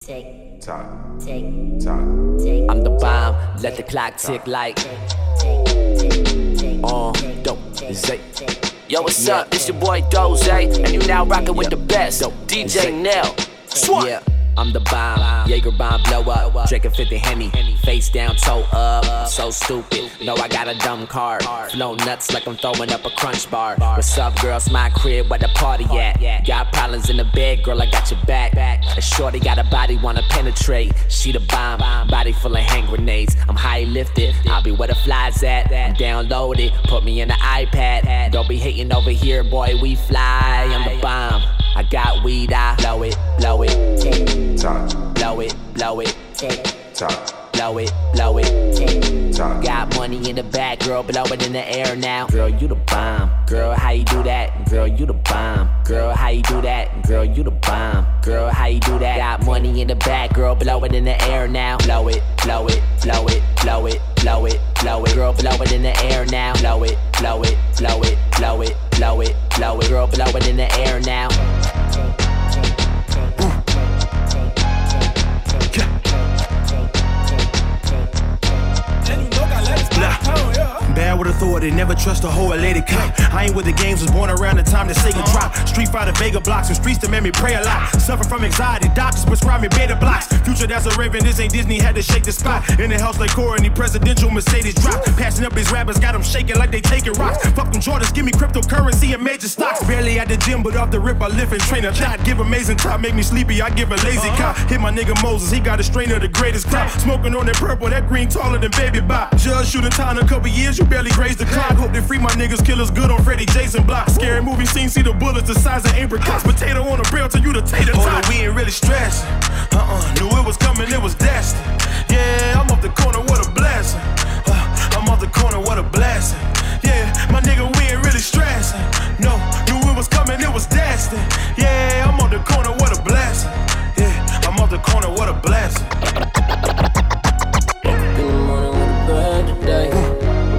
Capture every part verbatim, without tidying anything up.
tick, tock, tick, tock, tick. I'm the bomb, let the clock tick like uh, dope, zay. Yo, what's up? It's your boy Doze, and you now rockin' with the best, D J Nell. Swat. Yeah, I'm the bomb, Jaeger bomb blow up, drinking fifty Henny, face down, toe up, so stupid, know I got a dumb card, flow nuts like I'm throwing up a crunch bar. What's up, girls? My crib, where the party at? Got problems in the bed, girl, I got your back. A shorty got a body, wanna penetrate, she the bomb, body full of hand grenades. I'm high lifted, I'll be where the flies at, I'm downloaded, put me in the iPad. Don't be hating over here, boy, we fly. I'm the bomb, I got weed, I blow it, blow it, tock, blow it, blow it, tock, blow it, blow it, tock. got money in the back, girl, blow it in the air now. Girl, you the bomb, girl, how you do that? Girl, you the bomb, girl, how you do that? Girl, you the bomb, girl, how you do that? Got money in the back, girl, blow it in the air now. Blow it, blow it, blow it, blow it, blow it, blow it, girl, blow it in the air now. Blow it, blow it, blow it, blow it, blow it, blow it, girl, blow it in the air now. Bad with authority, never trust a whole lady cop. I ain't with the games, was born around the time the Sega drop. Street Fighter, Vega blocks, and streets that made me pray a lot. Suffer from anxiety, doctors prescribe me beta blocks. Future, that's a raven, this ain't Disney, had to shake the spot. In the house like Cora, and the presidential Mercedes drop. Passing up these rappers, got them shaking like they taking rocks. Fuck them Jordans, give me cryptocurrency and major stocks. Barely at the gym, but off the rip, I lift and train a lot. Give amazing top, make me sleepy, I give a lazy cop. Hit my nigga Moses, he got a strain of the greatest crop. Smoking on that purple, that green taller than Baby Bop. Judge shooting time in a couple years, you barely grazed the clock. Hope they free my niggas, killers good on Freddie Jason block. Scary movie scene, see the bullets the size of apricots. Potato on a grill till you the tater tot. Oh, we ain't really stressed. Uh-uh, knew it was coming, it was destined. Yeah, I'm off the corner, what a blessing. Uh, I'm off the corner, what a blessing. Yeah, my nigga, we ain't really stressing. No, knew it was coming, it was destined. Yeah, I'm off the corner, what a blessing. Yeah, I'm off the corner, what a blessing. In the morning with a bad today.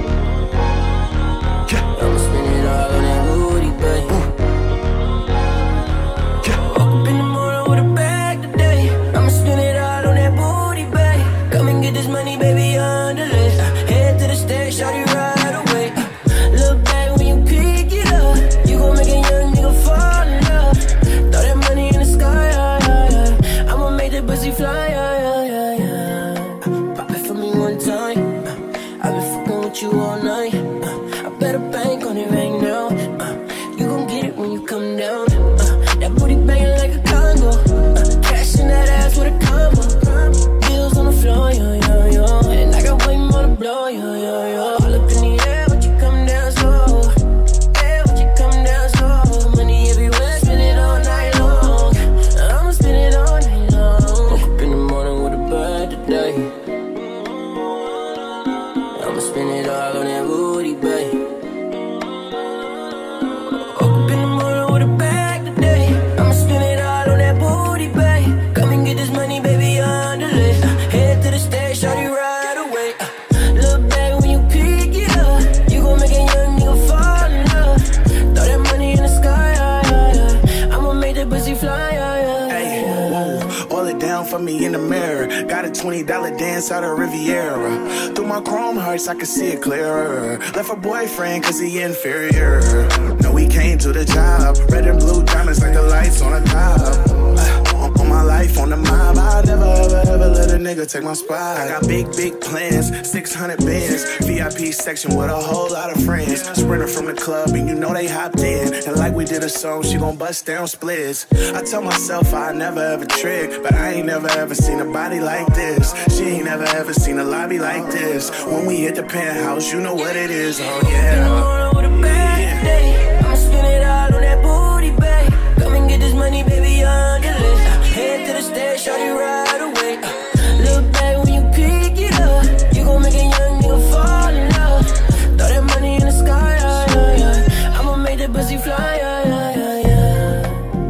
twenty dollar dance out of Riviera. Through my chrome hearts, I can see it clearer. Left her boyfriend cause he inferior. No, he came to the job. Red and blue diamonds like the lights on a top. On, on my life, on the mob, I'll never ever ever let a nigga take my spot. I got big, big plans, six hundred bands. V I P section with a whole lot of friends. Sprinter from the club and you know they hopped in. And like we did a song, she gon' bust down splits. I tell myself I never ever trick, but I ain't never ever seen a body like this. She ain't never ever seen a lobby like this. When we hit the penthouse, you know what it is, oh yeah. In the morning with a bad day, I'ma spend it all on that booty, babe. Come and get this money, baby, on the list. Head to the stage, shawty right away. Look back when you pick it up, you gon' make a young nigga fall in love. Throw that money in the sky, yeah, yeah, yeah. I'ma make that pussy fly, yeah, yeah, yeah, yeah.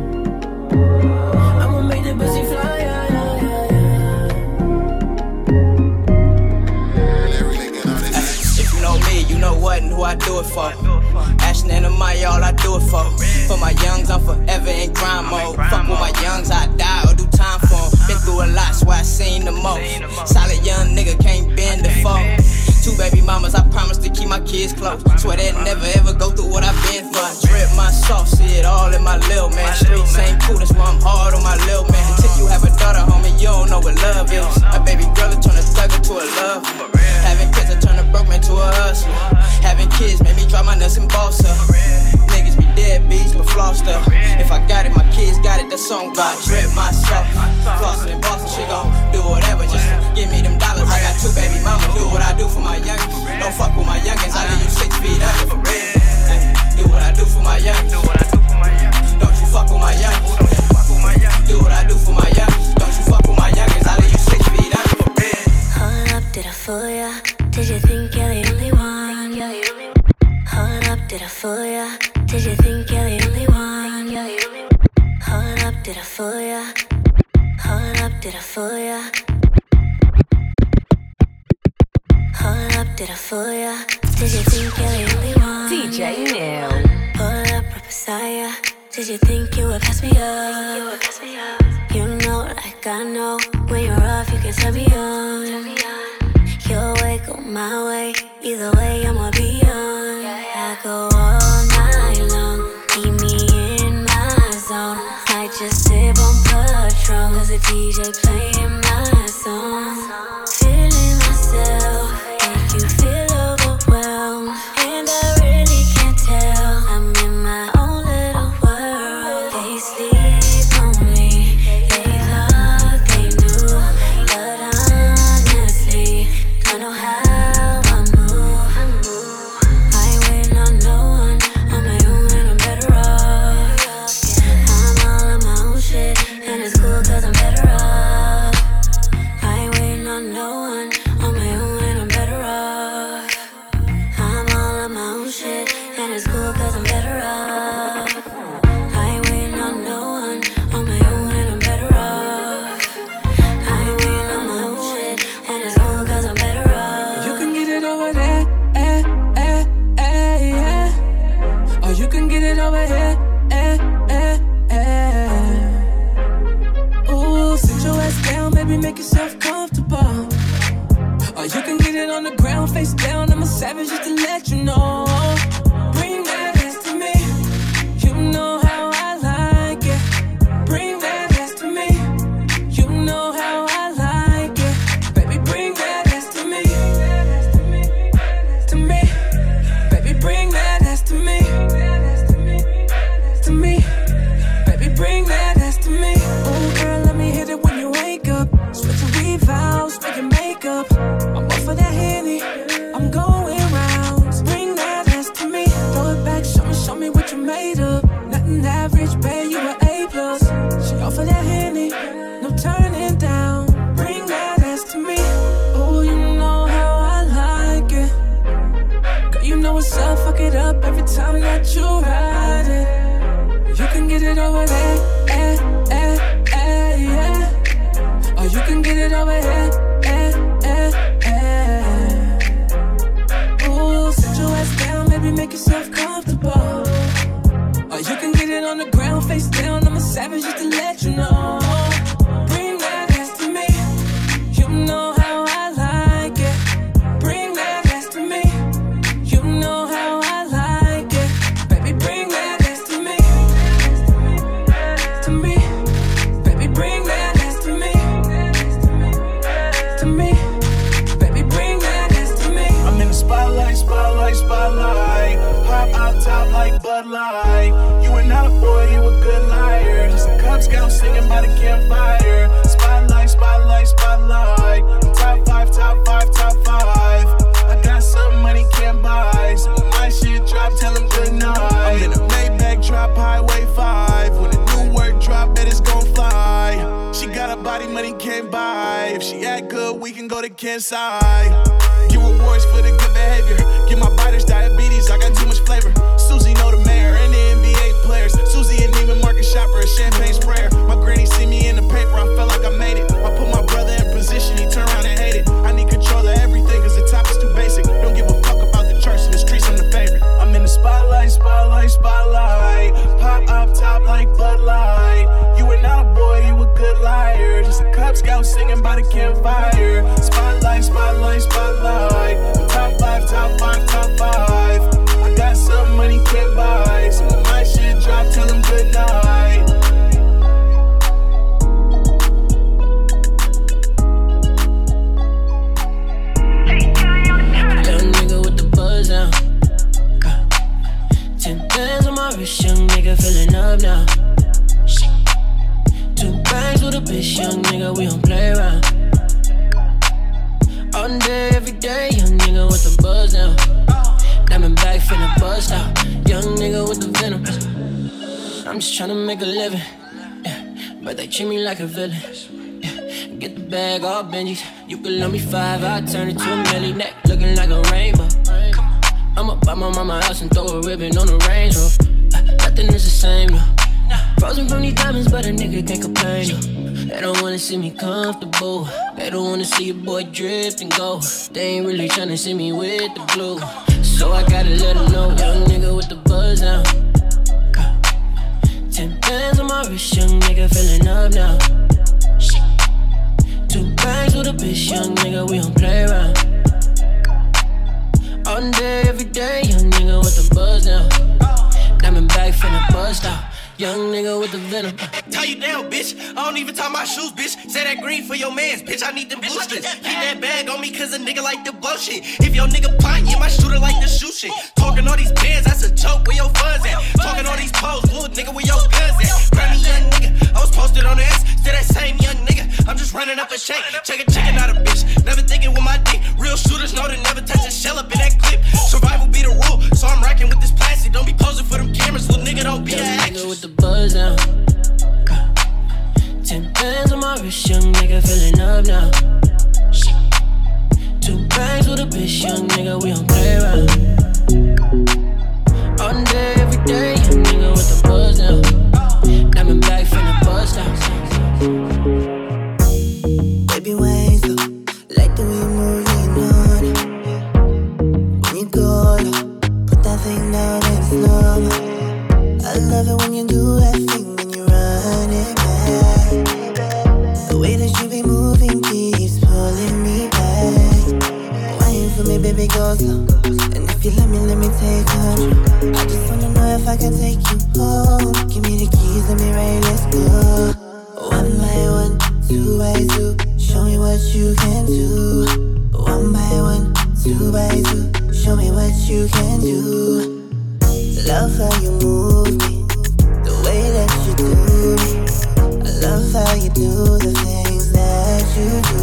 I'ma make that pussy fly, yeah, yeah, yeah, yeah. If you know me, you know what and who I do it for. Ashton and Amaya, all I do it for. For my youngs, I'm forever in grind mode. Fuck with my youngs, I die or do time for 'em. Been through a I seen the most. Solid young nigga can't bend the phone. Two baby mamas, I promise to keep my kids close. Swear they never ever go through what I've been through. Drip my sauce, see it all in my lil' man. Streets ain't cool, that's why I'm hard on my lil' man. Until you have a daughter, homie, you don't know what love is. A baby girl will turn a thug into a love. Having kids, I turn a broke man to a hustler. Having kids made me drop my nuts and boss up. Niggas be deadbeats, but floss stuff. If I got it, my kids got it, that's song God. Drip myself, flossing and bossing, she gon' do whatever. Just give me them dollars. I got two baby mamas, do what I do for my youngins. Don't fuck with my youngins, I leave you six feet under for real. Ay, do what I do for my youngins. Don't you fuck with my youngins. Do what I do for my youngins. Don't you fuck with my youngins, I leave you six feet under for real. Hold up, did I fool ya? Did you think you're the only one? Hold up, did I fool ya? Did you think you're the only one? Hold up, did I fool ya? Hold up, did I fool ya? Hold up, did I fool ya? Did you think you're the only one? D J Nell. Hold up, Messiah. Did you think you would pass me up? You know, like I know, when you're off, you can turn me on. Your way, go my way. Either way, I'ma be on. I go all night long. Keep me in my zone. Might just sip on Patron, cause the D J playing my song. Feeling myself, make you feel overwhelmed. And I really can't tell, I'm in my own little world. They sleep on me, they thought they knew, but honestly, don't know how I move. I ain't waiting on no one, on my own and I'm better off. I'm all on my own shit, and it's cool cause I'm better off. I ain't waiting on no one, on my own and I'm better off. I'm all on my own shit, and it's cool cause I'm better off. I ain't waiting on no one, on my own and I'm better off. I ain't waiting on my own shit, and it's cool cause I'm better off. You can get it over there, eh, eh, eh, yeah. Or you can get it over here, eh, eh, eh. Ooh, sit your ass down, baby, make yourself comfortable. Or you can get it on the ground, face down, I'm a savage just to let you know. Bring that ass to me, you know how I like it. Bring that ass to me, you know how I like it. Baby, bring that ass to me, to me. Baby, bring that ass to me, to me. Baby, bring that ass to me. Ooh, girl, let me hit it when you wake up. Switch your weave out, make your makeup. I'm off of that Henny, I'm going rounds. Bring that ass to me, throw it back, show me, show me what you made of. Nothing average, babe, you an A plus. She off of that Henny, no turning down. Bring that ass to me, ooh, you know how I like it. Girl, you know what's up, fuck it up every time that you ride it. You can get it over there, eh, eh, eh, yeah. Or you can get it over here, eh, eh, eh. Ooh, sit your ass down, baby, make yourself comfortable. Or you can get it on the ground, face down, I'm a savage just to let you know. Bring that ass to me, you know how I like it. Bring that ass to me, you know how I like it. Baby, bring that ass to me, to me. Baby, bring that ass to me, to me. Baby, bring that ass to me. I'm in the spotlight, spotlight, spotlight. Pop out top like Bud Light. You are not a boy, you a good liar. Just a Cub Scout singing by the campfire. Spotlight, spotlight, spotlight. I'm top five, top five, top five. I got some money can't buy. So when my shit drop, tell them good night. I'm in a Maybach drop, Highway five. When the new work drop, bet it's gon' fly. She got a body money can't buy. If she act good, we can go to Kansai. Give rewards for the good behavior. Give my biters diabetes, I got too much flavor. Susie know the mayor and the N B A players. Susie and Neiman Market shopper, a champagne sprayer. My granny see me in the paper, I felt like I made it. I put my brother in position, he turned around and hated. I need control of everything, cause the top is too basic. Don't give a fuck about the church in the streets, I'm the favorite. I'm in the spotlight, spotlight, spotlight. Pop up top like Bud Light. You are not a boy, you a good liar. Just a Cub Scout singing by the filling up now. Two bands with a bitch, young nigga, we don't play around. All day, every day, young nigga with the buzz now. Diamond back finna bust out, young nigga with the venom. I'm just tryna make a living, yeah, but they treat me like a villain. Yeah, get the bag, all Benjis. You can love me five, I turn it to a milli. Neck looking like a rainbow. I'ma buy my mama house and throw a ribbon on the Range Rover. Uh, nothing is the same, no. Frozen from these diamonds, but a nigga can't complain, no. They don't wanna see me comfortable. They don't wanna see a boy drift and go. They ain't really tryna see me with the glue. So I gotta let them know, young nigga with the buzz now. Ten bands on my wrist, young nigga filling up now. Two bands with a bitch, young nigga, we don't play around. All day, every day, young nigga with the buzz now. Diamond back finna bust out, young nigga with the venom. Tie you down, bitch. I don't even tie my shoes, bitch. Say that green for your mans, bitch. I need them boosters. Keep that bag on me, cause a nigga like the blow shit. If your nigga pint, you might shoot her like the shoe shit. Talking all these bands, that's a joke. Where your funds at? Talking all these posts, little nigga, where your guns at? Grab me, young nigga. I was posted on the X to that same young nigga. I'm just running up a check. Check a chicken out a bitch. Never thinking with my dick. Real shooters know to never touch a shell up in that clip. Survival be the rule, so I'm racking with this plastic. Don't be posing for them cameras, little nigga, don't be an actress. Nigga with the buzz now. Ten bands on my wrist, young nigga filling up now. Two bands with a bitch, young nigga, we don't play around. All day, every day, young nigga with the buzz now. Diamond back finna bust out. Baby, ways up, like the way you move, you know it. When you go low, put that thing down and slow. I love it when you do that thing, when you run it back. The way that you be moving keeps pulling me back. Waiting for me, baby, go slow. And if you let me, let me take control. I just wanna know if I can take you home. Give me the keys, let me ride, let's go. One by one, two by two, show me what you can do. One by one, two by two, show me what you can do. Love how you move me, the way that you do me. I love how you do the things that you do.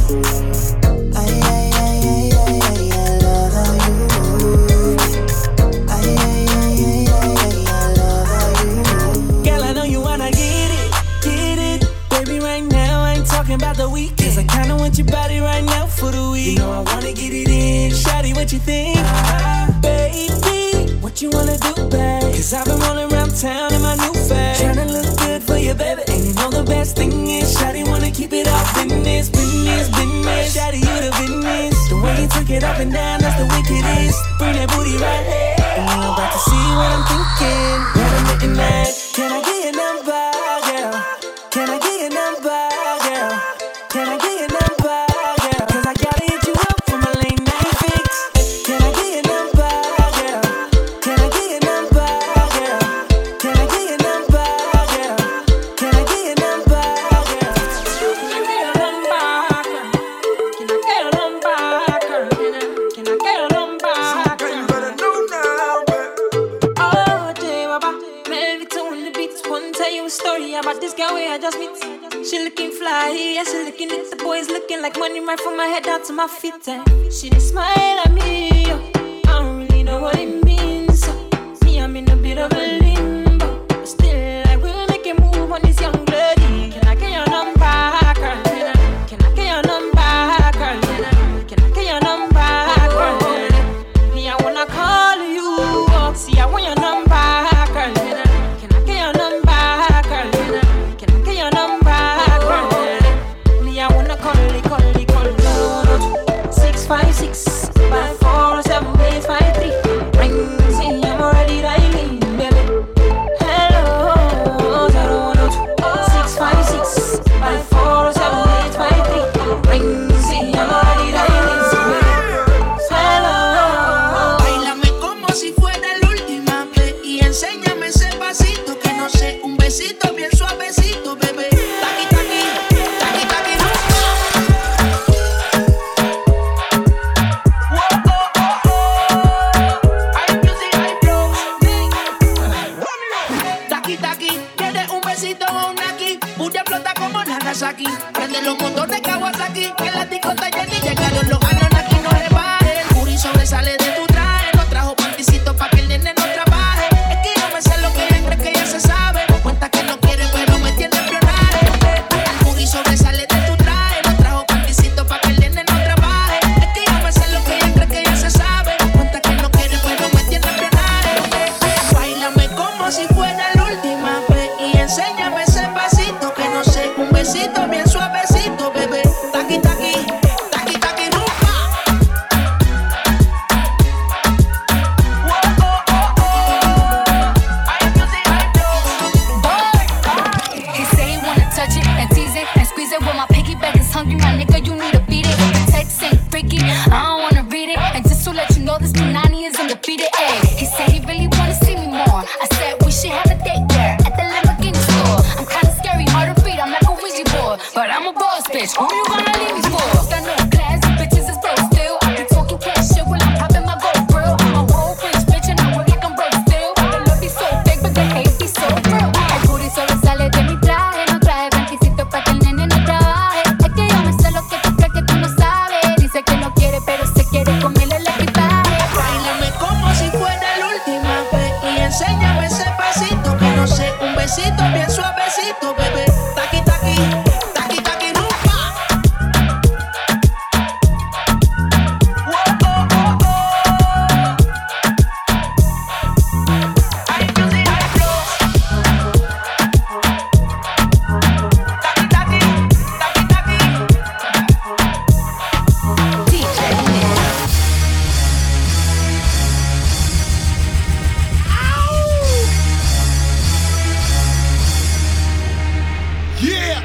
I, I, I, I, I, I, I love how you move. I, I, I, I, I, I love how you move. Girl, I know you wanna get it, get it. Baby, right now I ain't talking about the weekend. Cause I kinda want your body right now for the week. You know I wanna get it in. Shawty, what you think? Uh, baby, what you wanna do, babe? Cause I've been rolling around town in my new fad. Tryna look good for you, baby. And you know the best thing is Shawty wanna keep it all business, business, business. Shawty, you the business. The way you took it up and down, that's the wickedest. Bring that booty right here. And you're about to see what I'm thinking. When I'm hitting that, can I get your number, girl? Can I get your number, girl? Can I get your number, girl? Cause I gotta hit you up for my late night fix. Can I get your number, girl? Can I get your number, girl? Can I get your number, girl? Can I get your number, girl? Can I get your number, girl? Can I get your number, girl? Can I, can I get your number, girl? You better know now, baby. Oh, J Baba, Melvito on the beats. One tell you a story about this girl where I just meet. She looking fly, yeah, she looking at the boys looking like money right from my head down to my feet. And she just smile at me, yo. I don't really know what it means. So, me, I'm in a bit of a limbo, but still I will make a move on this young lady. Can I get your number, girl? Can I, can I get your number, girl? Can I, can I get your number, girl? Me, I wanna call you up. See, I want your number, girl. Can I, can I get your number, girl? Can I, can I get your number? Five, six, five, four, seven, eight, five, three. Ring, see, I'm already dialing, baby. Taki Taki, ¿quieres un besito o un aquí? Puya flota como Nagasaki. Prende los motores Kawasaki. Que la discota Jenny llegaron los Anunnaki. No rebaje, el puri sobresale de tu traje. No trajo panticito pa' que el nene no trabaje. Es que yo me sé lo que ella cree que ya se sabe. Cuenta que no quiere pero me tiene espionaje. El puri sobresale de tu traje. No trajo panticito pa' que el nene no trabaje. Es que yo me sé lo que ella cree que ya se sabe. Cuenta que no quiere pero me tiene espionaje. Báilame como si fuera la última vez y enséñame ese pasito que no sé, un besito bien suavecito, bebé. Taki taki, taki taki rumba. Oh, oh, oh, oh. I music, I know. He say he wanna touch it and tease it and squeeze it. When my piggyback is hungry, my nigga, you need to beat it. The text ain't freaky, I don't wanna read it. And just to let you know, this Punani is undefeated. Ayy, he said he really wanna see me more. I said we should have a date there at the Lamborghini store. I'm kinda scary, hard to beat, I'm like a Ouija board, but I'm a boss bitch. Who you gonna leave me for? Got no class, you bitches is broke still. I be talking cash shit while I'm popping my gold grill. I'm a whole rich bitch and I work like I'm broke still. The love be so fake, but the hate be so real. El booty solo sale de mi traje, no trae panticito pa' que el nene no trabaje. Es que yo me sé lo que tú crees que tú no sabes. Dice que no quiere, pero se quiere comerle el equipaje. Báilame como si fuera la última vez y enséñame ese pasito que no sé, un besito bien suavecito, bebé. Taki taki, taki taki rumba. Oh, oh, oh, oh. I music, I flow. Taki taki, taki taki. D J Nick. Yeah!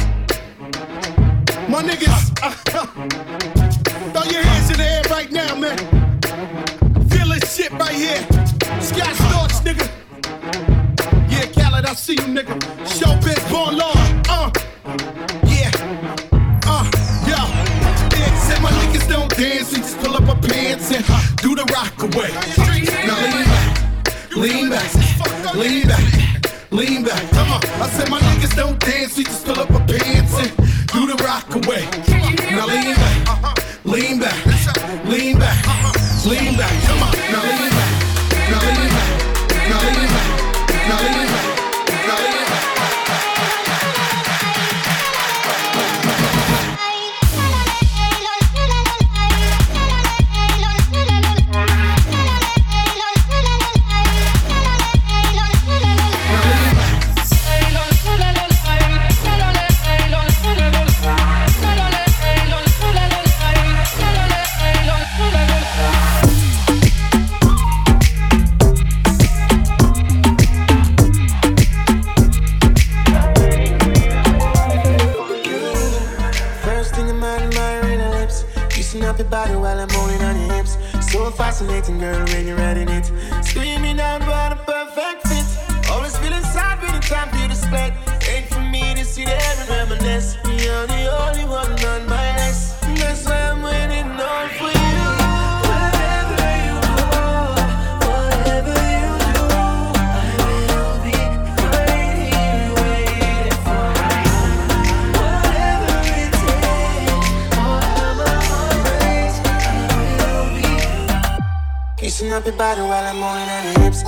My niggas, uh, throw your hands in the air right now, man. Feel this shit right here. Scott Storch, nigga. Yeah, Khaled, I see you, nigga. Showbiz, born law. Uh, yeah. Uh, yo. Yeah, said my niggas don't dance, we just pull up our pants and uh, do the rock away. Now lean back, lean back, lean back. Lean back, come on. I said my niggas don't dance, we just pull up our pants and do the rock away. Now lean back, lean back, lean back, lean back, come on. Now lean back, now lean back, now lean back, now lean back, now lean back. Body while I'm holding on your hips. So fascinating, girl, when you're riding it. Screaming out about a perfect fit. Always feeling sad when it's time for you to split. Ain't for me to sit there and reminisce. You're the only one on my list. That's why I'm waiting on for you. Wherever you go, whatever you do, I will be right here waiting for you. Whatever it takes, whatever kissing up your body while I'm holding on your hips.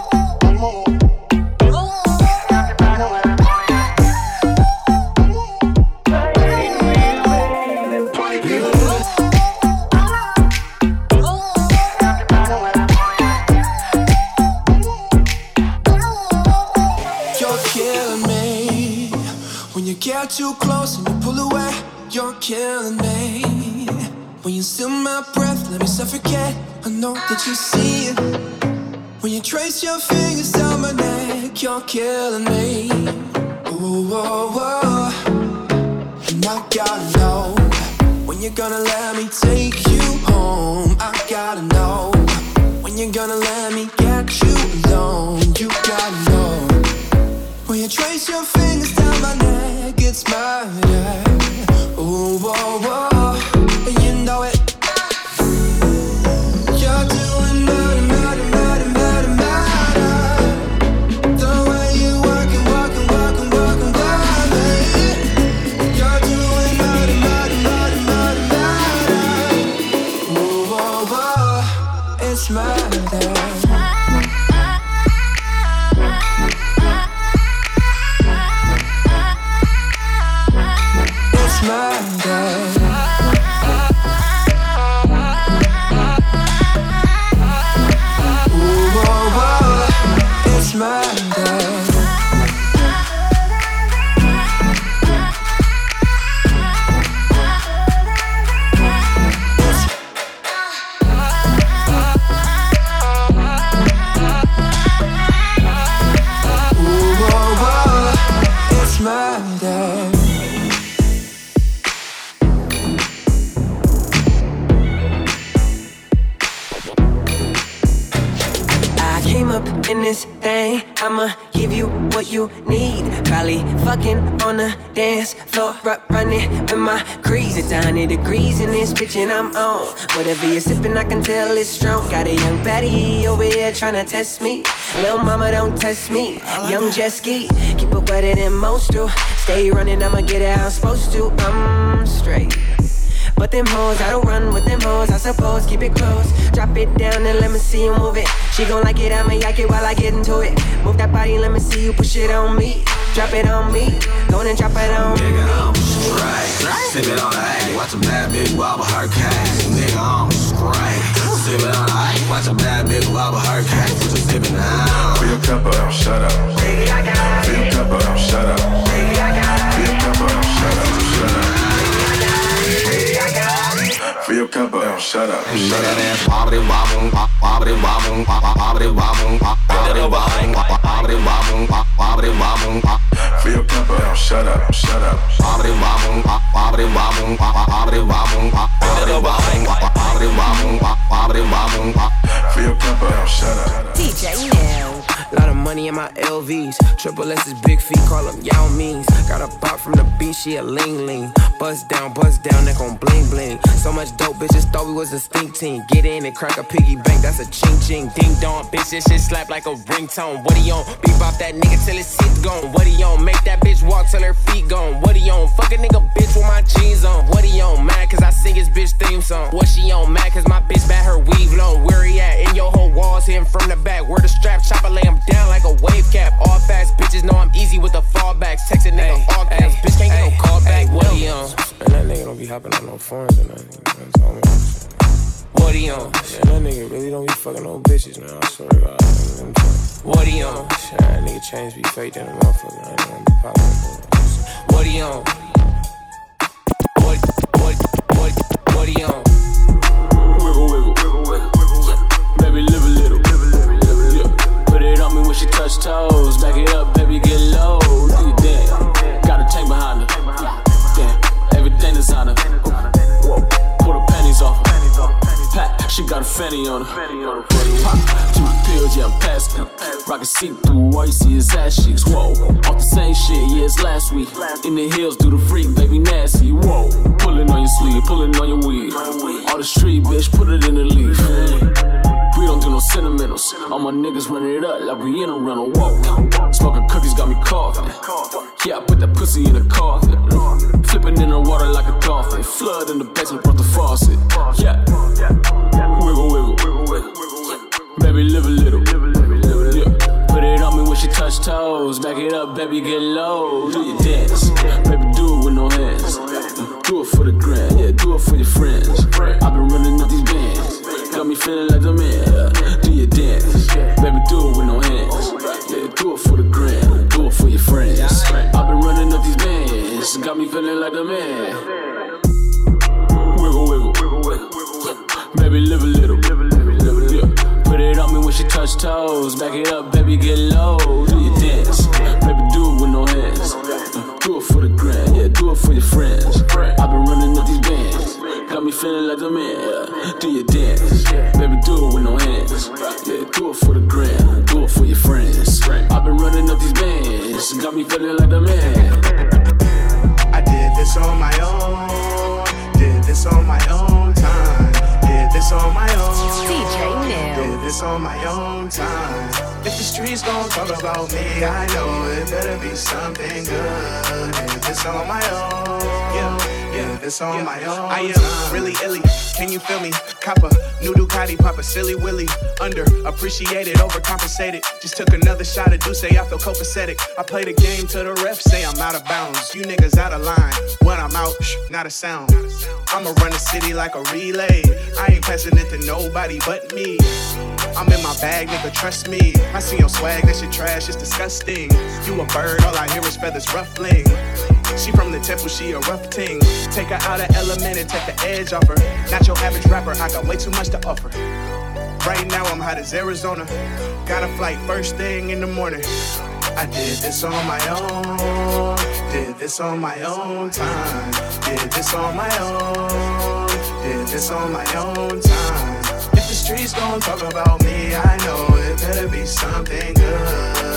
You're killing me when you get too close and you pull away. You're killing me when you steal my breath, let me suffocate. I know that you see it when you trace your fingers down my neck. You're killing me. Ooh, whoa, whoa. And I gotta know when you're gonna let me take you home. I gotta know when you're gonna let me get you alone. You gotta know when you trace your fingers down my neck. It's my yeah. Ooh, whoa, whoa. And you know it. You're doing murder, murder, murder, murder, murder. The way you I'ma give you what you need. Probably fucking on the dance floor, r- running with my crease. It's one hundred degrees in this bitch and I'm on. Whatever you're sipping, I can tell it's strong. Got a young baddie over here tryna test me. Lil' mama, don't test me. Young jet ski, keep it wetter than most do. Stay running, I'ma get it how I'm supposed to. I'm straight. But them hoes, I don't run with them hoes, I suppose, keep it close. Drop it down and let me see you move it. She gon' like it, I'ma yak it while I get into it. Move that body, let me see you push it on me. Drop it on me, go and drop it on Nigga, me. I'm straight. Sip it on the A, watch a bad bitch wobble her case. Nigga, I'm straight. Sip it on the A, watch a bad bitch wobble her case. Just sip it now. Fill your cup up, shut up. Fill your cup up, shut up. Fill your cup up, shut up, shut up. Fill your cup up, shut up, shut up. Wobbly wobble, wobbly wobble, wobbly wobble, wobbly wobble, wobbly wobble, wobbly wobble. Fill your cup up, shut up, shut up. Wobbly wobble, wobbly wobble, wobbly wobble, wobbly wobble, wobbly wobble, wobbly wobble. Fill your cup up, shut up. D J now. Lot of money in my L Vs. Triple S's big feet, call them Yao Means. Got a pop from the beach, she a ling ling. Bust down, bust down, neck on bling bling. So much dope, bitches thought we was a stink team. Get in and crack a piggy bank, that's a ching ching. Ding dong, bitch, this shit slap like a ringtone. What he on? Bebop that nigga till his teeth gone. What he on? Make that bitch walk till her feet gone. What he on? Fuck a nigga bitch with my jeans on. What he on? Mad cause I sing his bitch theme song. What she on? Mad cause my bitch bat her weave long. Where he at? In your whole walls, hitting from the back. Where the strap chopper lay him down like a wave cap. All fast bitches know I'm easy with the fallbacks. Texting nigga all caps. Bitch can't get no call back. What he on? And that nigga don't be hopping on no phones or nothing. You know what, what he on? Yeah, that nigga really don't be fucking no bitches, man. I swear to God. What he on? Shit, that nigga chains be fake than a motherfucker. I ain't gonna be popping. What he on? What, what, what, what he on? Wiggle, wiggle, wiggle, wiggle, wiggle. Baby, live a little. Yeah. Put it on me when she touch toes. Back it up, baby, get low. Do you dance? Got a tank behind her. Damn, everything designer. Whoa, pull the panties off her. Pat, she got a fanny on her. Pop, two pills, yeah, I'm passing. Rockin' see-through, all you see is ass cheeks. Whoa, off the same shit, yeah, it's last week. In the hills, do the freak, baby, nasty. Whoa, pullin' on your sleeve, pullin' on your weed. All the street, bitch, put it in the leaf. We don't do no sentimentals. All my niggas running it up like we in a rental. Whoa, smoking cookies got me coughing. Yeah, I put that pussy in a coffin. Flipping in the water like a dolphin. Flood in the basement, brought the faucet. Yeah, wiggle, wiggle, wiggle, wiggle. Baby, live a little. Yeah. Put it on me when she touch toes. Back it up, baby, get low. Do your dance, baby, do it with no hands. Do it for the grand, yeah, do it for your friends. I've been running up these bands. Got me feeling like the man. Do your dance, baby, do it with no hands. Yeah, do it for the gram, do it for your friends. I've been running up these bands. Got me feeling like the man. Wiggle, wiggle, wiggle, wiggle. Baby, live a little. Yeah. Put it on me when she touch toes. Back it up, baby, get low. Do your dance, baby, do it with no hands. Do it for the gram, yeah, do it for your friends. I've been running up these bands. Got me feeling like the man. Do your dance, baby, do it with no hands. Yeah, do it for the gram, do it for your friends. I've been running up these bands. Got me feeling like the man. I did this on my own. Did this on my own time. Did this on my own. D J Neil. Did this on my own time. If the streets gon' talk about me, I know it better be something good. Did this on my own. Yeah, yeah, this on my own. I am time. Really illy. Can you feel me? Copper, new Ducati, pop a silly willy. Underappreciated, overcompensated. Just took another shot of Douce, I feel copacetic. I play the game till the ref say I'm out of bounds. You niggas out of line. When I'm out, shh, not a sound. I'ma run the city like a relay. I ain't passing it to nobody but me. I'm in my bag, nigga, trust me. I see your swag, that shit trash, it's disgusting. You a bird, all I hear is feathers ruffling. She from the temple, she a rough ting. Take her out of element and take the edge off her. Not your average rapper, I got way too much to offer. Right now I'm hot as Arizona. Got a flight first thing in the morning. I did this on my own. Did this on my own time. Did this on my own. Did this on my own time. If the streets gon' talk about me, I know it better be something good.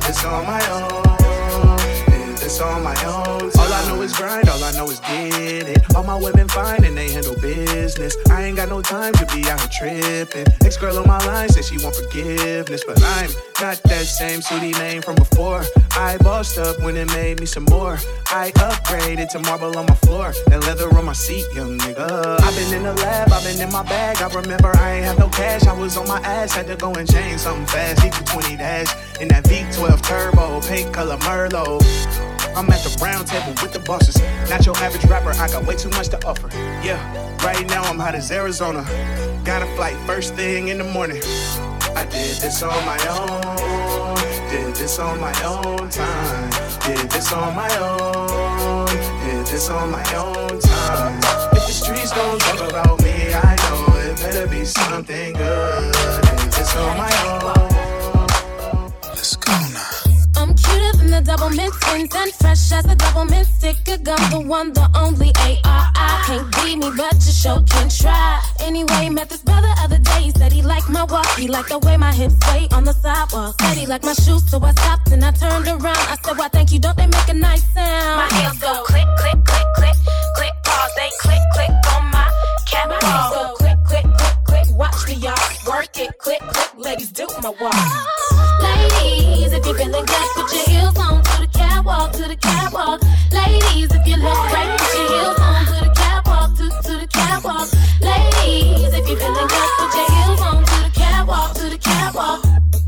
this on my own. Did this on my own. All I know is grind, all I know is get it. All my women fine and they handle business. I ain't got no time to be out here tripping. Ex-girl on my line said she want forgiveness, but I'm not that same Sootie name from before. I bossed up when it made me some more. I upgraded to marble on my floor and leather on my seat, young nigga. I've been in the lab, I've been in my bag. I remember I ain't have no cash, I was on my ass. Had to go and change something fast. E Q twenty dash in that V twelve turbo, pink color Merlot. I'm at the round table with the bosses. Not your average rapper, I got way too much to offer. Yeah, right now I'm hot as Arizona. Got a flight first thing in the morning. I did this on my own. Did this on my own time. Did this on my own. Did this on my own time. If the streets don't talk about me, I know it better be something good. Did this on my own. Let's go now. I'm cuter than the double mint twins and fresh as a double mint sticker gun. The one, the only A R I. Can't beat me, but you sure can try. Anyway, met this brother other day. He said he liked my walk, he liked the way my hips sway on the sidewalk. Said he liked my shoes, so I stopped and I turned around. I said, why thank you, don't they make a nice sound? My heels go click, click, click, click, click, pause, they click, click on my camera. My heels go click, click, click, click, watch me y'all work it, click, click, ladies do my walk. Ladies, if you're feeling good, put your heels on to the catwalk, to the catwalk. Ladies, if you look great, put your heels on to the catwalk, to, to the catwalk. Ladies, if you're feeling good, put your heels on to the catwalk, to the catwalk.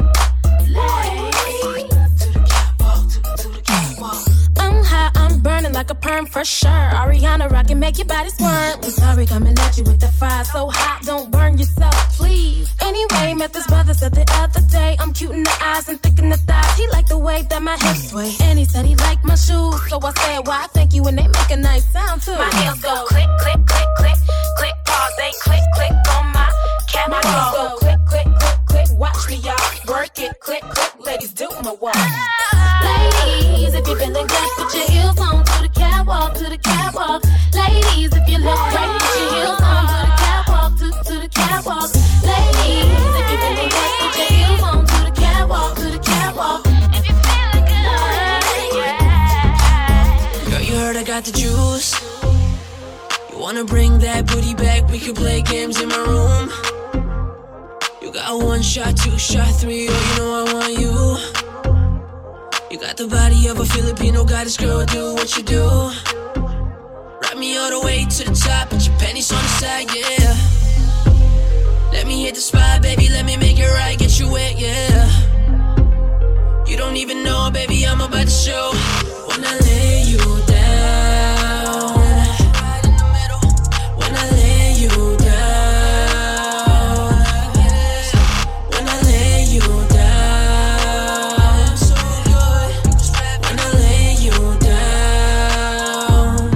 Ladies, to the catwalk, to, to the catwalk. I'm high, I'm burning like a perm for sure. Ariana rockin', make your body squirm. I'm sorry, coming at you with the fire so hot, don't burn yourself, please. Anyway, met this brother said the other day, I'm cute in the eyes and thick in the thighs. He liked the way that my hips sway, and he said he liked my shoes. So I said, why, thank you, and they make a nice sound too. My heels go click, click, click, click, click, pause, they click, click on my camera. My heels go click, click, click, click, watch me y'all work it, click, click, ladies do my walk. Ladies, if you're feeling good, put your heels on to the catwalk, to the catwalk. Ladies, if you look great, put your heels on to the catwalk, to, to the catwalk. Ladies, if you're feeling good, put your heels on to the catwalk, to the catwalk. If you're feeling good, yeah. Girl, you heard I got the juice. You wanna bring that booty back? We can play games in my room. You got one shot, two shot, three, oh, you know I want you. You got the body of a Filipino goddess, girl, do what you do. Ride me all the way to the top, put your panties on the side, yeah. Let me hit the spot, baby, let me make it right, get you wet, yeah. You don't even know, baby, I'm about to show. When I lay you down, when I lay you down, when I lay you down, when I lay you down,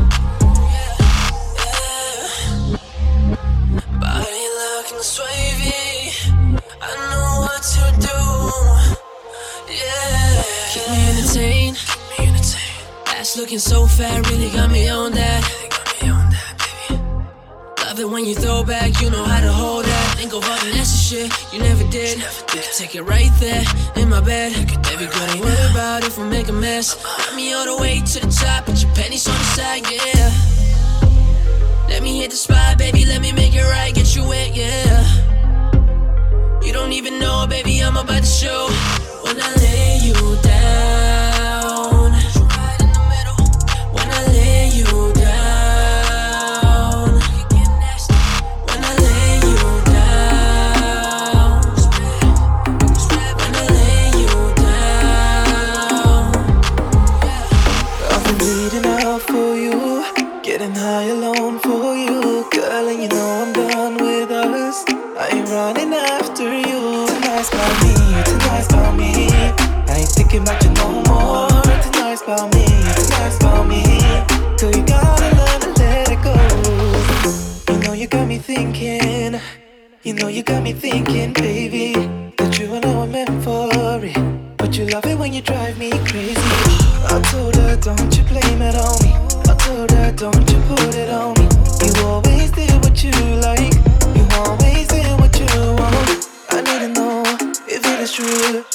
yeah. Body looking swavy, I know what to do, yeah. Keep me entertained, keep me entertained. Ass looking so fat, really got me on that. Really got me on that, baby. Love it when you throw back, you know how to hold that. Ain't go fucking nasty shit, you never did. You can take it right there in my bed. Baby girl, don't worry about if I make a mess. Got me all the way to the top, put your panties on the side, yeah. Let me hit the spot, baby, let me make it right, get you wet, yeah. You don't even know, baby, I'm about to show. When I lay you down, when I lay you down, when I lay you down, when I lay you down. I've been bleeding out for you, getting high alone for you, girl, and you know I'm done with us. I ain't running after you. Tonight's about me, tonight's about me. I ain't thinking about you no more. Tonight's about me, tonight's about me. So you gotta learn to let it go. You know you got me thinking, you know you got me thinking, baby, that you and I were meant for it. But you love it when you drive me crazy. I told her, don't you blame it on me. I told her, don't you put it on me. You always did what you like, you always did what you want. I need to know if it is true.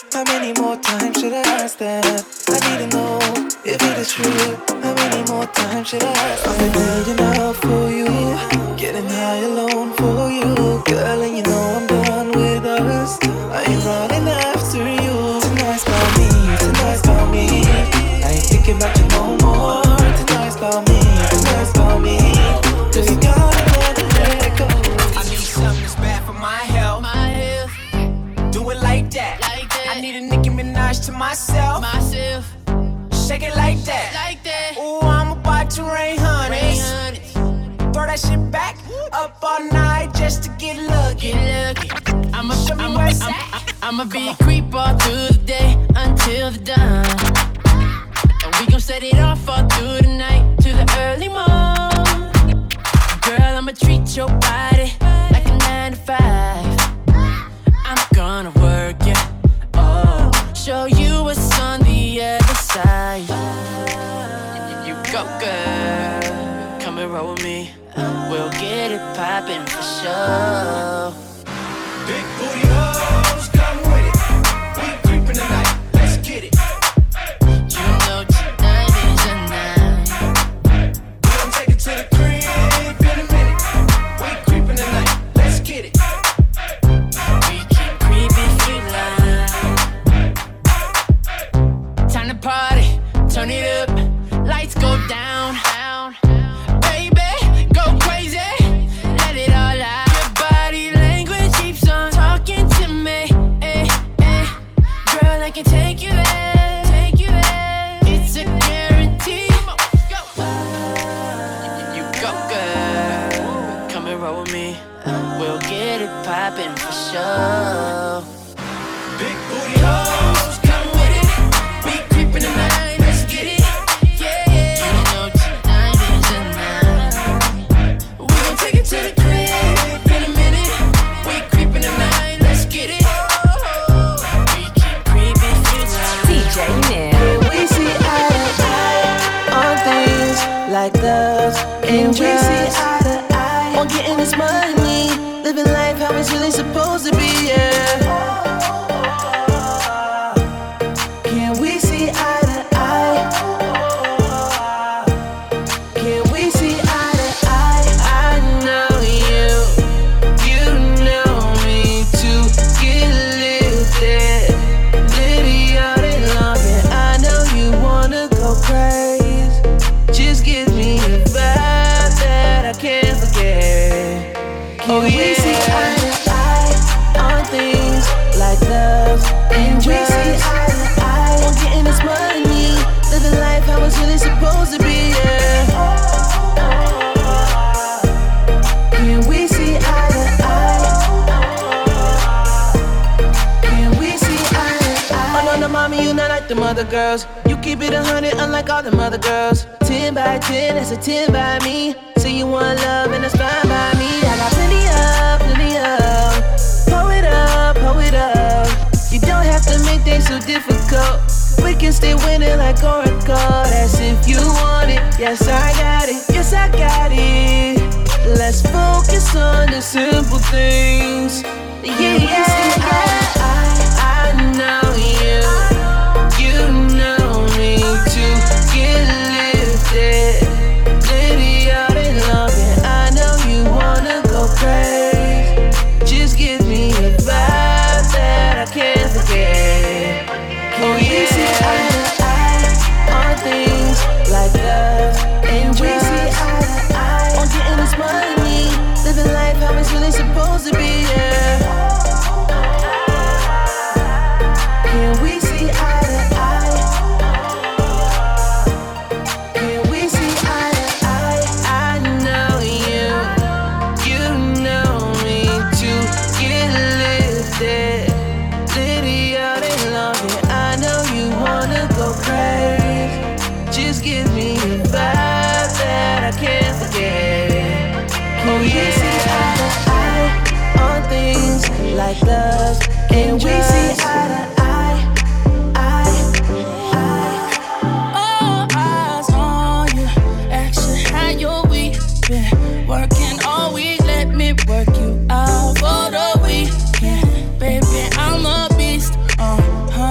How many more times should I ask that? I need to know if it is true. How many more times should I ask that? I've been waiting out for you, getting high alone for you, girl, and you know I'm done with us. I ain't running after you. Tonight's about me, tonight's about me. I ain't thinking about you no more. Tonight's about me, tonight's about me. Cause you gotta let it, let it go. I need something that's bad for my health. My health. Do it like that. Like that. I need a Nicki Minaj to myself. Myself. Shake it like that. Like that. Ooh, I'm about to rain hundreds. Throw that shit back up all night just to get lucky. Get lucky. I'ma, I'ma, I'ma, I'ma be a creep all through the day until the dawn. And we gon' set it off all through the night to the early morning. Girl, I'ma treat your body like a nine to five. I'm gonna work it, oh, show you what's on the other side. You go, girl, come and roll with me. We'll get it poppin' for sure. Big booty hoes, come with it. We creepin' tonight, let's get it. You know tonight is a night. We gon' take it to the crib in a minute. We creepin' tonight, let's get it. We can creep if you like. Time to party, turn it up. Lights go down, down. Baby, go crazy. Let it all out. Your body language keeps on talking to me. Eh, eh. Girl, I can take you there, take you there. It's a guarantee. You go, girl. Come and roll with me. We'll get it poppin' for sure. Big booty hoes, come with it. We creepin' tonight, let's get it. Yeah, you know tonight is a night. We gon' take it to the crib in a minute. We creepin' tonight, let's get it. We can creep if you like. D J Neil. We see eye to eye on things like love and we see eye to eye on getting this money, living life how it's really supposed to be, yeah. Can we see eye to eye? Can we see eye to eye? I know you, you know me too. Get lifted, litty all day long, and I know you wanna go crazy. Just give me a vibe that I can't forget. Can oh, we yeah. see eye to eye on things like love and we see eye to eye on getting this money, living life how it's really supposed to be, yeah. Can we see eye to eye? Can we see eye to eye? Oh no, no, mommy, you not like them other girls. You keep it a hundred, unlike all them other girls. Ten by ten, that's a ten by me. Say you want love, and that's fine by me. I got plenty of, plenty of. Pull it up, pull it up. You don't have to make things so difficult. We can stay winning like Oracle. That's if you want it. Yes, I got it. Yes, I got it. Let's focus on the simple things. Yeah, yeah, I, I, I know you. You know me too. Get lifted, litty all day long, and I know you wanna go crazy. Just give me a vibe that I can't forget. Can oh, we yeah. see eye to eye on things like love and we see eye to eye on getting this money, living life how it's really supposed to be, yeah. Can we see eye to eye? Can we see eye to eye? I know you, you know me too. Get lifted, litty all day long, and I know you wanna go crazy. Just give me a vibe that I can't forget. Can oh, we yeah. see eye to eye on things like love and we see eye to eye, eye, eye. All eyes on you, action how your week been working all week. Let me work you out for the weekend, baby. I'm a beast, uh huh.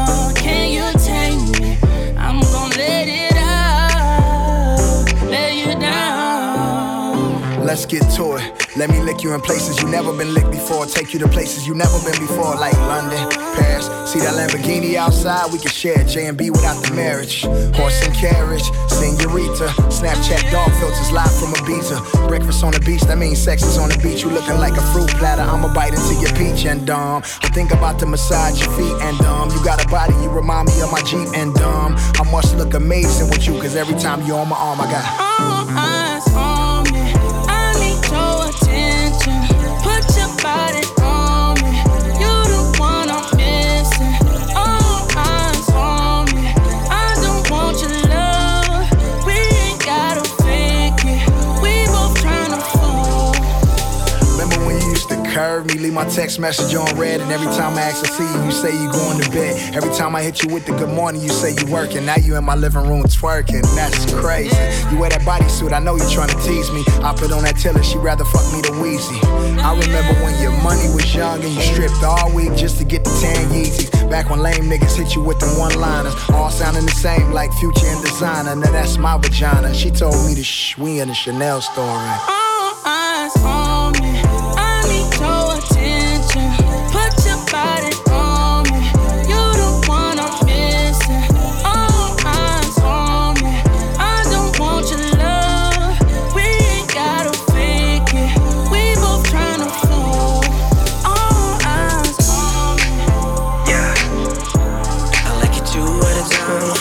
let's get to it. Let me lick you in places you never been licked before. Take you to places you never been before, like London, Paris. See that Lamborghini outside? We can share J and B without the marriage. Horse and carriage, senorita. Snapchat dog filters live from Ibiza. Breakfast on the beach, that means sex is on the beach. You looking like a fruit platter, I'ma bite into your peach and um I think about to massage your feet and um you got a body, you remind me of my Jeep and um I must look amazing with you, cause every time you're on my arm, I got all eyes on me. I need your attention. Put your body on me. You the one I'm missing. All eyes on me. I don't want your love. We ain't gotta fake it. We both tryna fall. Remember when you used to curve me, leave my text message on red, and every time I ask to see you, you say you going to bed. Every time I hit you with the good morning, you say you working. Now you in my living room twerking, that's crazy. You wear that bodysuit, I know you're trying to tease me. I put on that Tiller, she rather fuck me than Weezy. I remember when your money was young and you stripped all week just to get the tan Yeezys. Back when lame niggas hit you with them one-liners, all sounding the same like Future and Designer. Now that's my vagina. She told me to shh, we in the Chanel store. Right? All eyes on me. I need your attention. Put your body on me. You the one I'm missing. All eyes on me. I don't want your love. We ain't gotta fake it. We both tryna fall. All eyes on me. Yeah, I like it two at a time.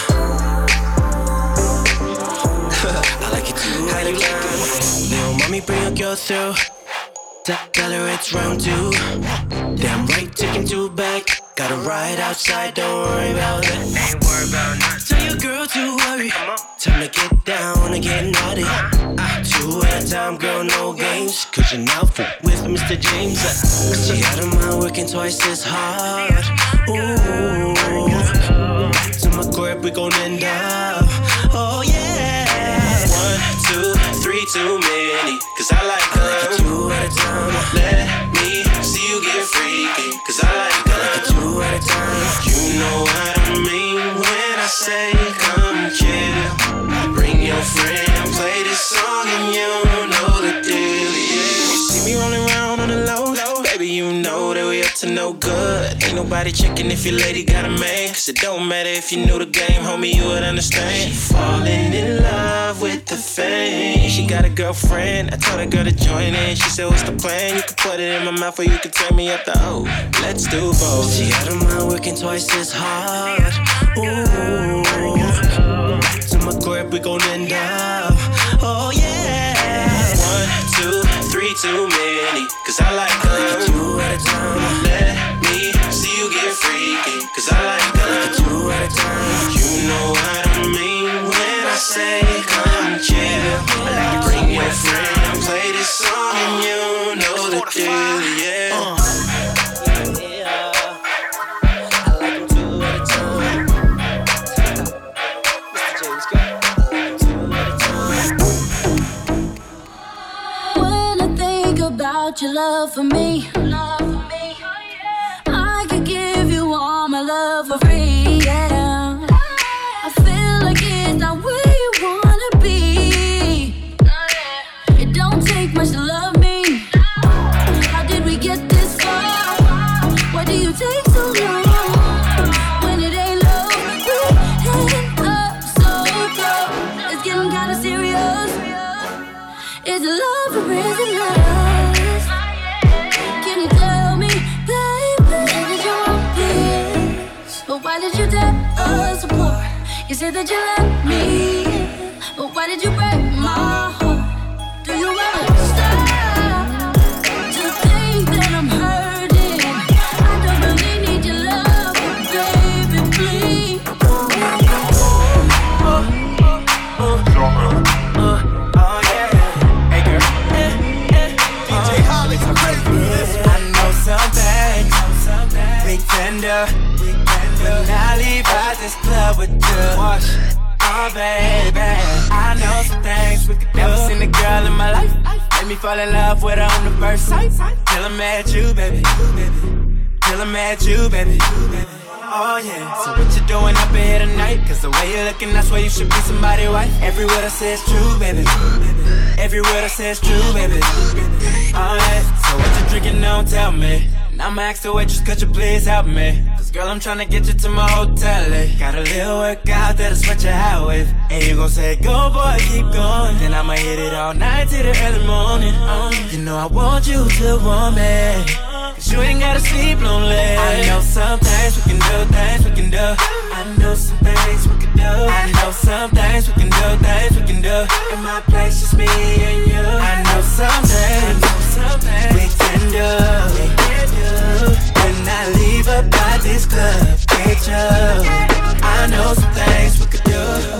I like it two at a time. Little mommy, bring your girl through. Tell her it's round two. Damn right, taking two back. Got a ride outside, don't worry about it. Ain't worry about nothing. Tell your girl to worry. Time to get down and get naughty. Uh, two at a time, girl, no games. Cause you're now with Mister James. Uh, she out of mind, working twice as hard. Ooh, to my crib, we gon' end up. Oh yeah. One, two, three, too many. Cause I like her. I like it two at a time. Let me see you get freaky. Cause I like her. I like it two at a time. You know what I mean when I say come chill. Bring your friend, play this song and you know the deal, yeah. You see me rolling around on the low, low. Baby, you know that we up to no good. Ain't nobody checking if your lady got a man. Cause it don't matter if you knew the game, homie, you would understand. She falling in love with the fame. She got a girlfriend, I told her girl to join in. She said, what's the plan? You can put it in my mouth or you can turn me up the O. Let's do both. She out of mind, working twice as hard. Ooh, to my crib, we gon' end up. Oh yeah. One, two, three, too many. Cause I like her. I like it two at a time. Let me see you get freaky. Cause I like her. I like it two at a time. You know what I mean when I say come chill. Bring your friend, play this song and you know the deal, yeah. Uh. Your love for me, love for me. I could give you all my love for free, yeah. I feel like it's not where you wanna be. It don't take much to love me. How did we get this far? Why do you take so long? When it ain't love, we end up so close. It's getting kinda serious. Is it love or is it love? Why did you tear us apart? You said that you love me, but why did you break my heart? Do you ever stop to think that I'm hurting? I don't really need your love, but baby, please. Oh, oh, oh, uh, oh yeah. Hey girl, eh, eh. D J Holly, I know something, big tender. When I leave out this club with you, oh baby, I know some things we could do. Never seen a girl in my life, made me fall in love with her on the first sight. Till I met you, baby. till I'm at you, baby. Oh yeah, so what you doing up in here tonight? Cause the way you're looking, that's why you should be somebody's wife. Every word I say is true, baby. Every word I say is true, baby. Alright, so what you drinking, don't tell me. And I'ma ask the waitress, could you please help me? Cause girl, I'm tryna get you to my hotel, eh? Got a little workout that'll sweat your hat with. And you gon' say, go boy, keep going. Then I'ma hit it all night till the early morning. um, You know I want you to want me, cause you ain't gotta sleep lonely. I know some things we can do, things we can do. I know some things we can do. I know some things we can do, things we can do. In my place, just me and you. I know some things, some things we can do, we can do. When I leave up by this club, get you. I know some things we could do.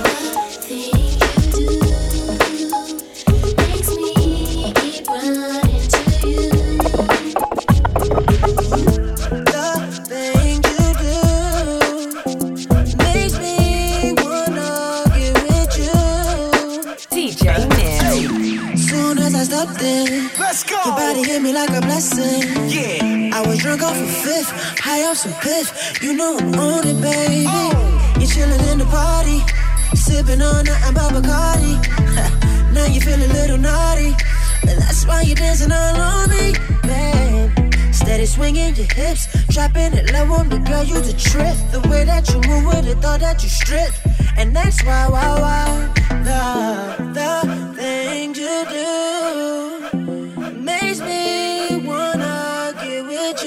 Let's go. Your body hit me like a blessing. Yeah. I was drunk off a fifth, high off some piff. You know I'm on it, baby. Oh. You're chilling in the party, sipping on nothing but Bacardi. Now you feel a little naughty, but that's why you're dancing all on me, babe. Steady swinging your hips, dropping it low on the girl, you the trip. The way that you move with it, thought that you stripped. And that's why, why, why, the, the things you do makes me wanna get with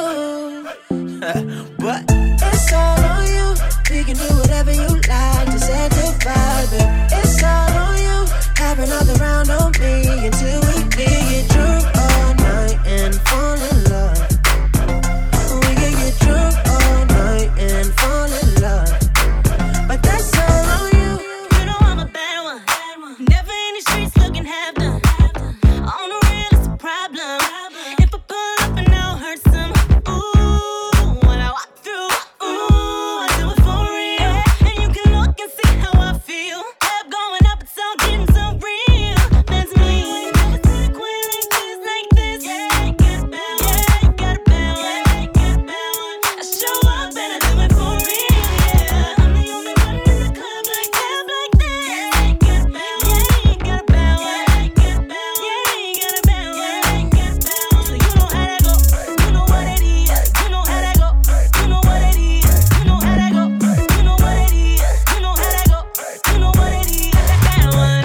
you. But it's all on you, we can do whatever you like to sanctify it. It's all on you, have another round on me until we can get drunk all night and fall in love. We can get drunk all night and fall in love. But that's all on you. You know I'm a bad one. Never in the streets looking half done. On the real, it's a problem. If I pull up and I'll hurt some. Ooh, when I walk through. Ooh, I do it for real. And you can look and see how I feel. Head going up, it's all getting so real. That's me. Never see the queen like this, like this. Yeah, you got a bad one. Yeah, you got a bad one. Yeah, you got a bad one. I show up and I do it for real. Yeah, I'm the only one in the club like club like this. Yeah, you got a bad one. Yeah, you got a bad one. Yeah, you got a bad one. Yeah, you got a bad one. Yeah, you got a bad one. So you know how that go. You know what it is. You know how that go. You know what it is. You know how that go. You know what it is. You know how that go. You know what it is. Bad one.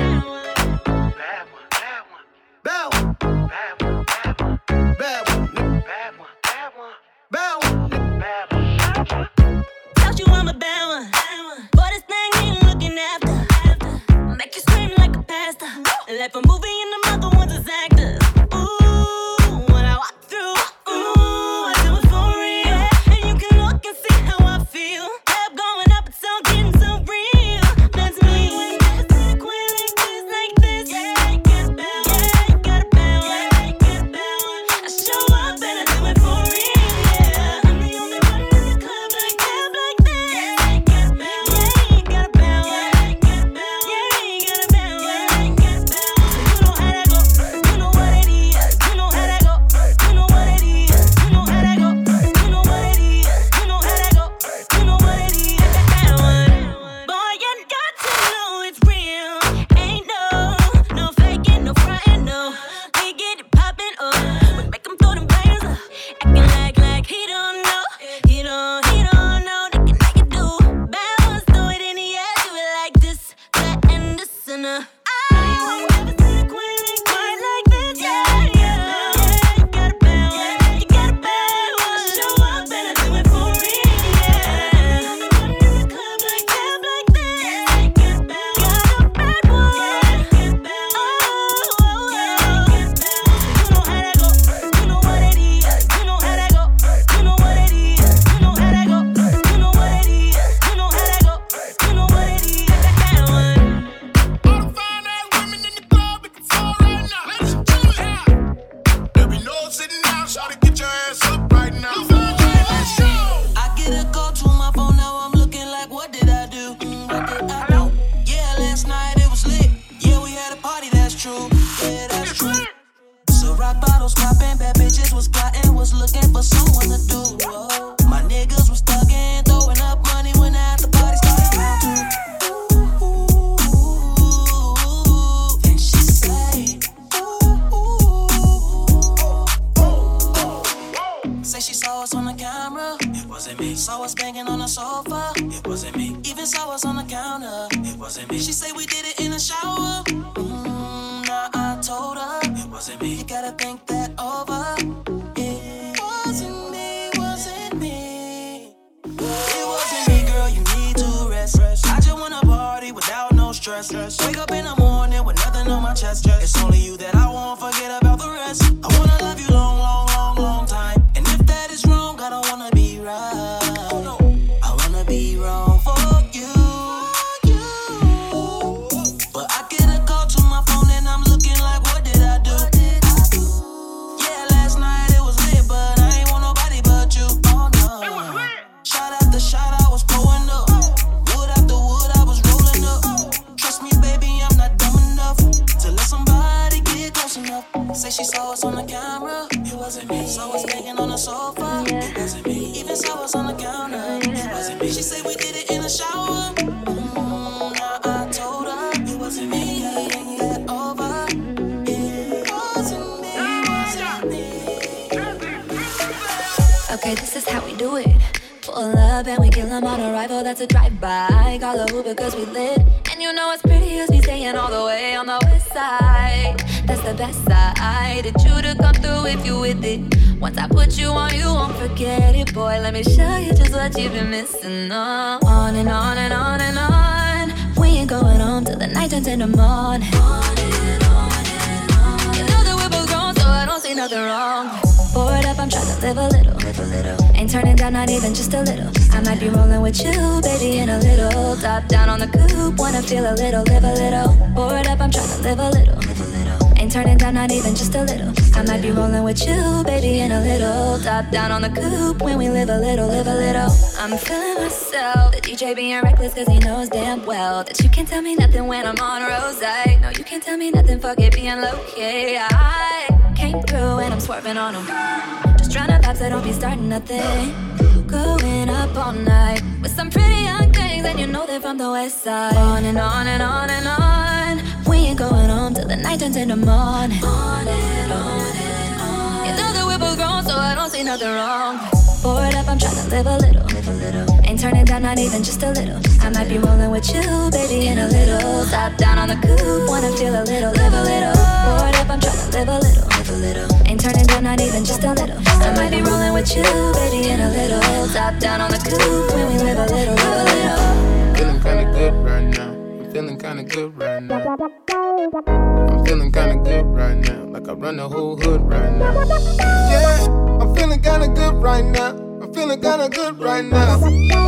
Bad one, bad one, bad one, bad one, bad one, bad one, bad one, bad one. Told you I'm a bad one. Boy, this thing ain't looking after. Make you scream like a pastor. Like a movie and the mother ones is actors. Ooh, when I walk through. Ooh, I do it for real. And you can look and see how I feel. Head going up, it's all getting so real. That's me. Never see the queen like this, like this. Yeah, you got a bad one. Yeah, you got a bad one. Yeah, you got a bad one. I show up and I do it for real. Yeah, I'm the only one in the club like club like this. Yeah, you got a bad one. Yeah, you got a bad one. Yeah, you got a bad one. Yeah, you got a bad one. Yeah, you got a bad one. So you know how that go. You know what it is. You know how that go. You know what it is. You know how that go. You know what it is. You know how that go. You know what it is. That one. Boy, you got to know it's real. Ain't no, no faking, no frontin', no. We get it poppin', oh. We make 'em throw them bands up. Acting like, like he don't know. He don't, he don't know. They can make it do. Bad ones throw it in the air. Do it like this, that, and this, and uh. I never see a queen like quite like this. Yeah, yeah. Yeah, you got a bad one. Yeah, you got a bad one. I show up and I do it for real. Yeah, I'm the one in the club like club like this. Yeah, you got a bad one. Got a bad one. Yeah, you got a bad one. Oh, oh, yeah, you got a bad one. You know how that go. You know what it is. You know how that go. You know what it is. You know how that go. You know what it is. You know how that go. You know what it is. That one. All the fine ass women in the club, we can fall right now. Ladies and gentlemen, there be no sitting down, shawty, get your ass up right now. Let's go. I get a call to my phone, now I'm looking like, what did I do? Mm, what did I do? Yeah, last night it was lit. Yeah, we had a party, that's true. Yeah, that's true. So rock bottles popping, bad bitches was plotting, was looking for someone to do. sofa. It wasn't me. Even saw us on the counter. It wasn't me. She say we did it in the shower. Mm, nah, I told her it wasn't me. You gotta think that over. It wasn't me, wasn't me. It wasn't me, girl. You need to rest. I just wanna party without no stress. Wake up in the morning with nothing on my chest. It's only you that I won't forget about the rest. I wanna love you long, long, long, long time. And if that is wrong, I don't wanna be right. I wanna be wrong for you. But I get a call to my phone and I'm looking like, what did I do? Yeah, last night it was lit, but I ain't want nobody but you. Oh no. Shot after shot, I was pulling up. Wood after wood, I was rolling up. Trust me, baby, I'm not dumb enough to let somebody get close enough. Say she saw us on the camera. It wasn't me. Saw us laying on the sofa. It wasn't me. Even saw us on the counter. It wasn't me. She said we did it in the shower. Mm, now I told her it wasn't me. Gotta think that over. It wasn't me. Wasn't me. Okay, this is how we do it. Pull up and we kill them on arrival, that's a drive-by. Call a Uber cause we lit. And you know it's pretty cause we staying all the way on the west side. That's the best side. Did you to come through if you with it. Once I put you on, you won't forget it. Boy, let me show you just what you've been missing. On, on and on and on and on. We ain't going home till the night turns into morning. On and on and on. You know that we're both grown, so I don't see nothing wrong. Bored up, I'm trying to live a little, live a little. Ain't turning down, not even just a little. I might be rolling with you, baby, in a little. Top down on the coupe, wanna feel a little, live a little. Bored up, I'm trying to live a little, live a little. Ain't turning down, not even just a little. I might be rolling with you, baby, in a little. Top down on the coupe, when we live a little, live a little. I'm feeling myself, the D J being reckless cause he knows damn well that you can't tell me nothing when I'm on Rose. No, you can't tell me nothing, fuck it, being low-key. I came through and I'm swerving on him. Just trying to vibe so don't be starting nothing. Going up all night with some pretty young things and you know they're from the west side. On and on and on and on. We ain't going home till the night turns into morning. On and on and on. You know that we're both grown so I don't see nothing wrong. Bored up, I'm trying to live a little, live a little. Ain't turning down, not even just a little. I might be rolling with you, baby, in a little. Top down on the coupe, wanna feel a little, live a little. Bored up, I'm trying to live a little, live a little. Ain't turning down, not even just a little. I might be rolling with you, baby, in a little. Top down on the coupe, when we live a little, live a little. Feeling kinda good right now. I'm feeling kinda good right now. I'm feeling kinda good right now. Like I run the whole hood right now. Yeah, I'm feeling kinda good right now. I'm feeling kinda good right now.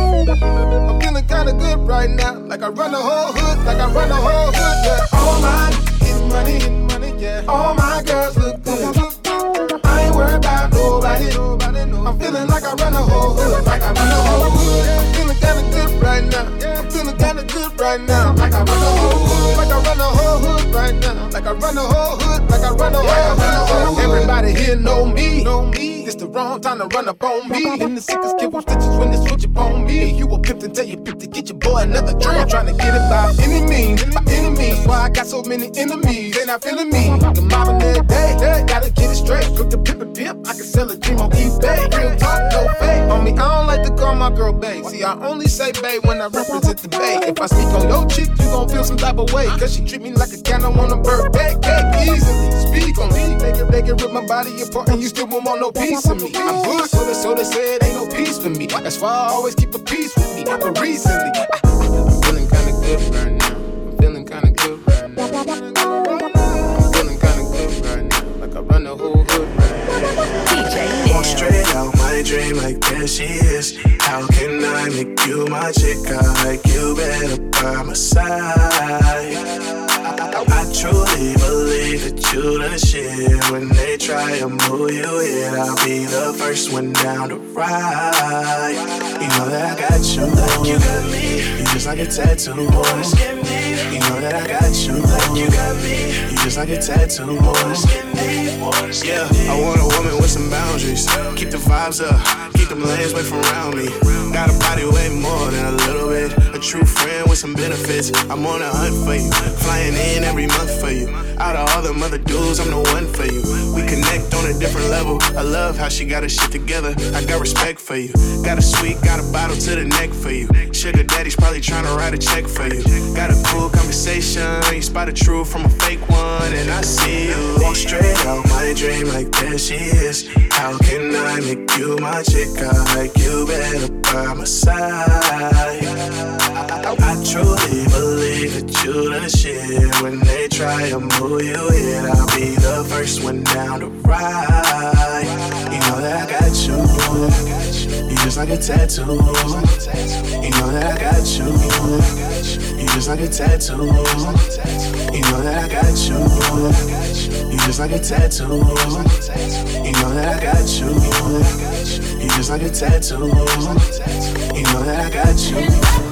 I'm feeling kinda good right now. Like I run the whole hood, like I run the whole hood. Yeah, all my getting money, getting money, yeah. All my girls look good. I ain't worried about nobody. I'm feeling like I run the whole hood, like I run the whole hood. I'm feeling kinda good right now. I'm feeling kinda good right now. Like I run the whole hood, like I run the whole hood right now. Like I run the whole hood, like I run the whole hood. Everybody here know me, know me. It's the wrong time to run up on me. In the sickest kid with stitches when they switch up on me. You a pimp and tell you pimp to get your boy another drink. I'm trying to get it by any means, by any means. That's why I got so many enemies. They not feeling me. The mobbing every day, hey, gotta get it straight. Quick to pimp and pimp, I can sell a dream on eBay. Real talk, no fake. On me, I don't like to call my girl bae. See, I only say bae when I represent the bae. If I speak on your chick, you gon' feel some type of way. Cause she treat me like a candle on a birthday cake. Easily speak on me. Make it, make it rip my body apart and you still won't want no piece of me. I'm good, so they, so they say it ain't no peace for me. That's why I always keep a peace with me. But recently, I, I'm feeling kinda good right now. I'm feeling kinda good right now. I'm feeling kinda good right now. Like I run the whole hood right now. D J Walk straight out my dream like there she is. How can I make you my chick? I like you better by my side. I truly believe that you the shit. When they try to move you in, I'll be the first one down to ride. You know that I got you, like you got me. You just like a tattoo, boy. You know that I got you, like you got me. You just like a tattoo, boy. Yeah, I want a woman with some boundaries. Keep the vibes up, keep them legs away from around me. Got a body way more than a little bit. A true friend with some benefits. I'm on a hunt for you, flying in every month for you. Out of all them other dudes, I'm the one for you. We connect on a different level. I love how she got her shit together. I got respect for you. Got a sweet, got a bottle to the neck for you. Sugar daddy's probably trying to write a check for you. Got a cool conversation. You spot a true from a fake one, and I see you. Walk straight out my dream like there she is. How can I make you my chick? I like you better by my side. I, I, I truly believe that you the shit. When they try to move you in, I'll be the first one down to ride. You know that I got you. You just like a tattoo. You know that I got you. You just like a tattoo. You know that I got you. You just like a tattoo. You know that I got you. You just like a tattoo. You know that I got you.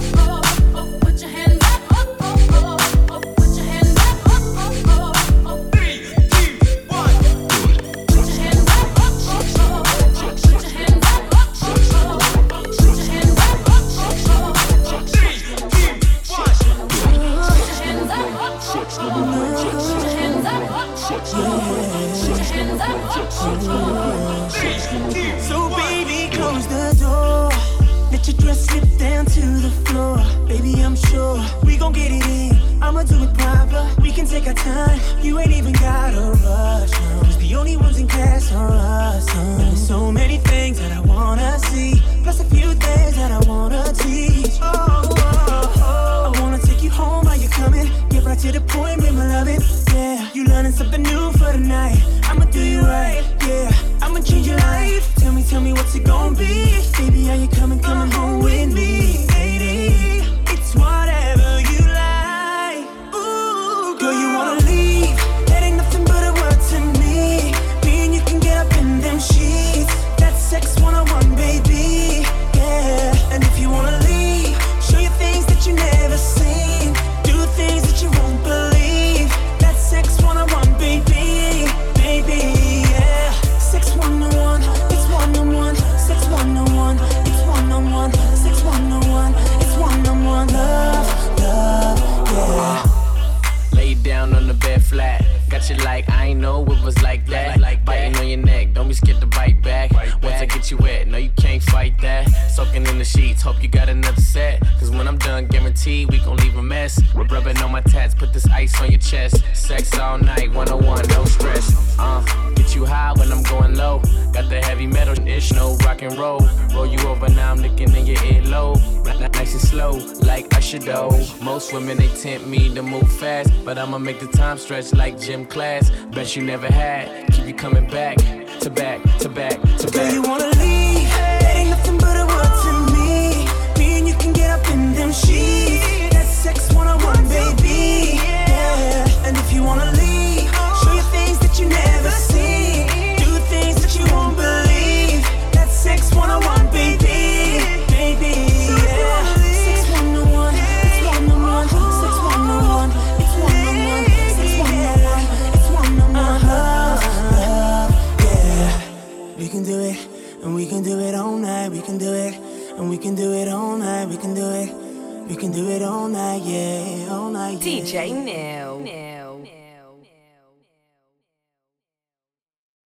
So baby, close the door. Let your dress slip down to the floor. Baby, I'm sure we gon' get it in. I'ma do it proper. We can take our time. You ain't even gotta rush. No. Cause the only ones in class are us. No. There's so many things that I wanna see. Plus a few things that I wanna teach. Oh, oh, oh. I wanna take you home while you're coming. Get right to the point, make my loving. Yeah, you learning something new for the night. I'ma do you right, yeah. I'ma change your life. Tell me, tell me what's it gon' be. Baby, are you coming, coming home with me? Lady, it's whatever you like. Ooh, girl, you wanna leave? That ain't nothing but a word to me. Me and you can get up in them sheets. That's sex one oh one, baby. Yeah, and if you wanna leave, show you things that you never seen. Do things that you won't believe. That's sex one oh one, baby. Baby, yeah. Sex one oh one, it's one oh one. Sex one oh one, it's one oh one. Sex one oh one, it's one oh one. Love, love, yeah. Lay down on the bed flat. Got you like, I ain't know it was like that. Like biting on your neck, don't be scared to bite back. Once I get you wet, no you can't fight that. Soaking in the sheets, hope you got another set. Cause when I'm done, guaranteed we gon' leave a mess. Rubbing on my tats, put this ice on your chest. Sex all night, one oh one, no stress. Uh, get you high when I'm going low. Got the heavy metal ish, no rock and roll. Roll you over, now I'm licking in your earlobe. Nice and slow, like Usher though. Most women, they tempt me to move fast. But I'ma make the time stretch like gym class. Bet you never had, keep you coming back. To back, to back, to back. Girl, you wanna leave? That ain't nothing but a word to me. Me and you can get up in them sheets. That's sex one oh one, baby. Yeah, and if you wanna leave, show you things that you never seen. Do things that you won't believe. That's sex one oh one, baby. Baby, yeah. Sex one oh one, it's one oh one. Sex one oh one, it's one oh one. Sex one oh one, it's one oh one. Love, love, yeah. We can do it, and we can do it all night. We can do it, and we can do it all night. We can do it, we can do it all night, yeah, all night. Yeah. D J Neil.